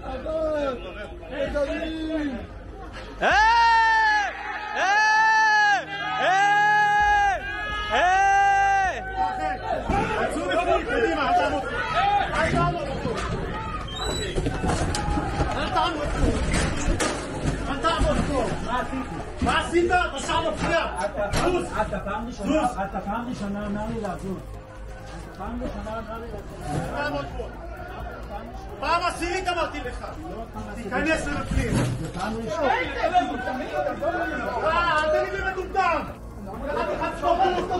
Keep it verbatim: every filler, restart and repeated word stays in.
מה עשית? בשעה מפריע! אתה פעם ראשונה אמר לי לעזוב. פעם ראשונה אמר לי לעזוב. פעם עשירית אמרתי לך! תיכנס לבפנים! זה פעם ראשונה. אל תגיד לי מטומטם! קראתי לך צפות!